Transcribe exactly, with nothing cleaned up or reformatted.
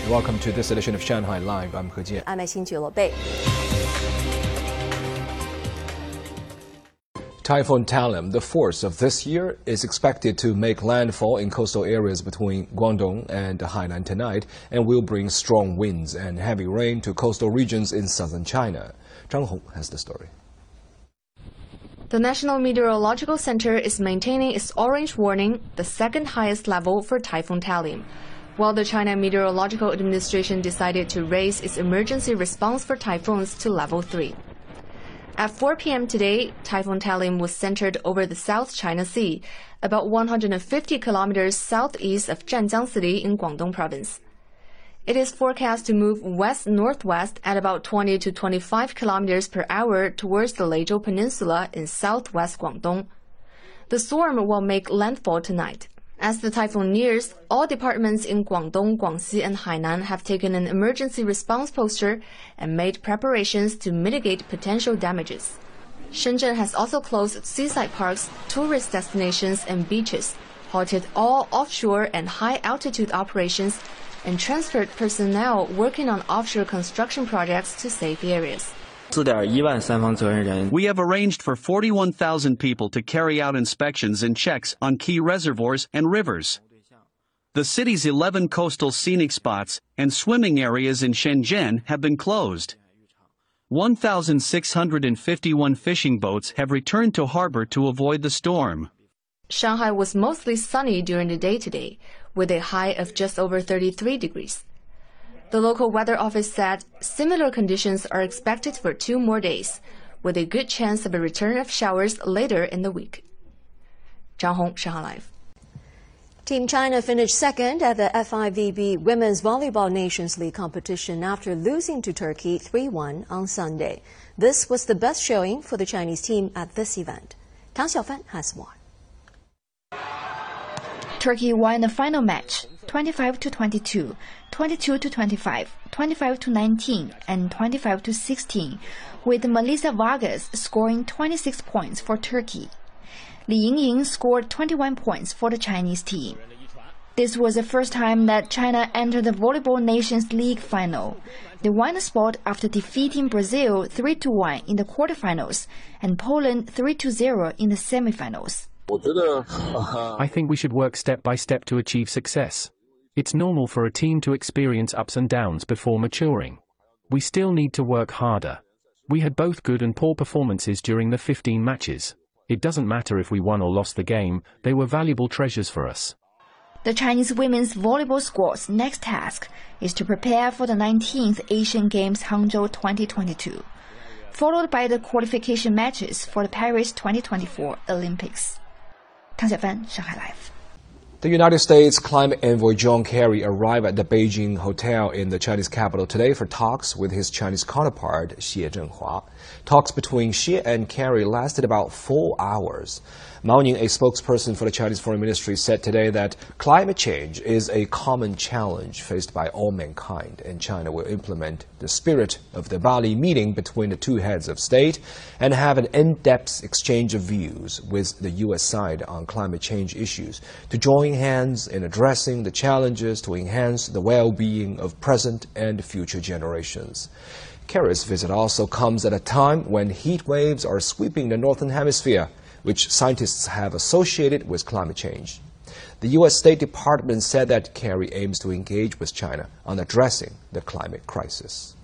Welcome to this edition of Shanghai Live. I'm He Jian. I'm Xin Bei. Typhoon Talim, the force of this year, is expected to make landfall in coastal areas between Guangdong and Hainan tonight and will bring strong winds and heavy rain to coastal regions in southern China. Zhang Hong has the story. The National Meteorological Center is maintaining its orange warning, the second highest level for Typhoon Talim, while the China Meteorological Administration decided to raise its emergency response for typhoons to level three. At four p m today, Typhoon Talim was centered over the South China Sea, about one hundred fifty kilometers southeast of Zhanjiang City in Guangdong Province. It is forecast to move west-northwest at about twenty to twenty-five kilometers per hour towards the Leizhou Peninsula in southwest Guangdong. The storm will make landfall tonight. As the typhoon nears, all departments in Guangdong, Guangxi, and Hainan have taken an emergency response posture and made preparations to mitigate potential damages. Shenzhen has also closed seaside parks, tourist destinations, and beaches, halted all offshore and high-altitude operations, and transferred personnel working on offshore construction projects to safe areas. We have arranged for forty-one thousand people to carry out inspections and checks on key reservoirs and rivers. The city's eleven coastal scenic spots and swimming areas in Shenzhen have been closed. one thousand six hundred fifty-one fishing boats have returned to harbor to avoid the storm. Shanghai was mostly sunny during the day today, with a high of just over thirty-three degrees. The local weather office said similar conditions are expected for two more days, with a good chance of a return of showers later in the week. Zhang Hong, Shanghai Live. Team China finished second at the F I V B Women's Volleyball Nations League competition after losing to Turkey three one on Sunday. This was the best showing for the Chinese team at this event. Tang Xiaofan has more. Turkey won the final match, twenty-five to twenty-two, twenty-two to twenty-five, twenty-five to nineteen, and twenty-five to sixteen, with Melissa Vargas scoring twenty-six points for Turkey. Li Yingying scored twenty-one points for the Chinese team. This was the first time that China entered the Volleyball Nations League final. They won the spot after defeating Brazil three to one in the quarterfinals and Poland three to zero in the semifinals. I think we should work step by step to achieve success. It's normal for a team to experience ups and downs before maturing. We still need to work harder. We had both good and poor performances during the fifteen matches. It doesn't matter if we won or lost the game, they were valuable treasures for us. The Chinese women's volleyball squad's next task is to prepare for the nineteenth Asian Games Hangzhou twenty twenty-two, followed by the qualification matches for the Paris twenty twenty-four Olympics. Tang Xiaofan, Shanghai Live. The United States climate envoy John Kerry arrived at the Beijing hotel in the Chinese capital today for talks with his Chinese counterpart, Xie Zhenhua. Talks between Xie and Kerry lasted about four hours. Mao Ning, a spokesperson for the Chinese Foreign Ministry, said today that climate change is a common challenge faced by all mankind, and China will implement the spirit of the Bali meeting between the two heads of state and have an in-depth exchange of views with the U S side on climate change issues to join hands in addressing the challenges to enhance the well-being of present and future generations. Kerry's visit also comes at a time when heat waves are sweeping the northern hemisphere, which scientists have associated with climate change. The U S State Department said that Kerry aims to engage with China on addressing the climate crisis.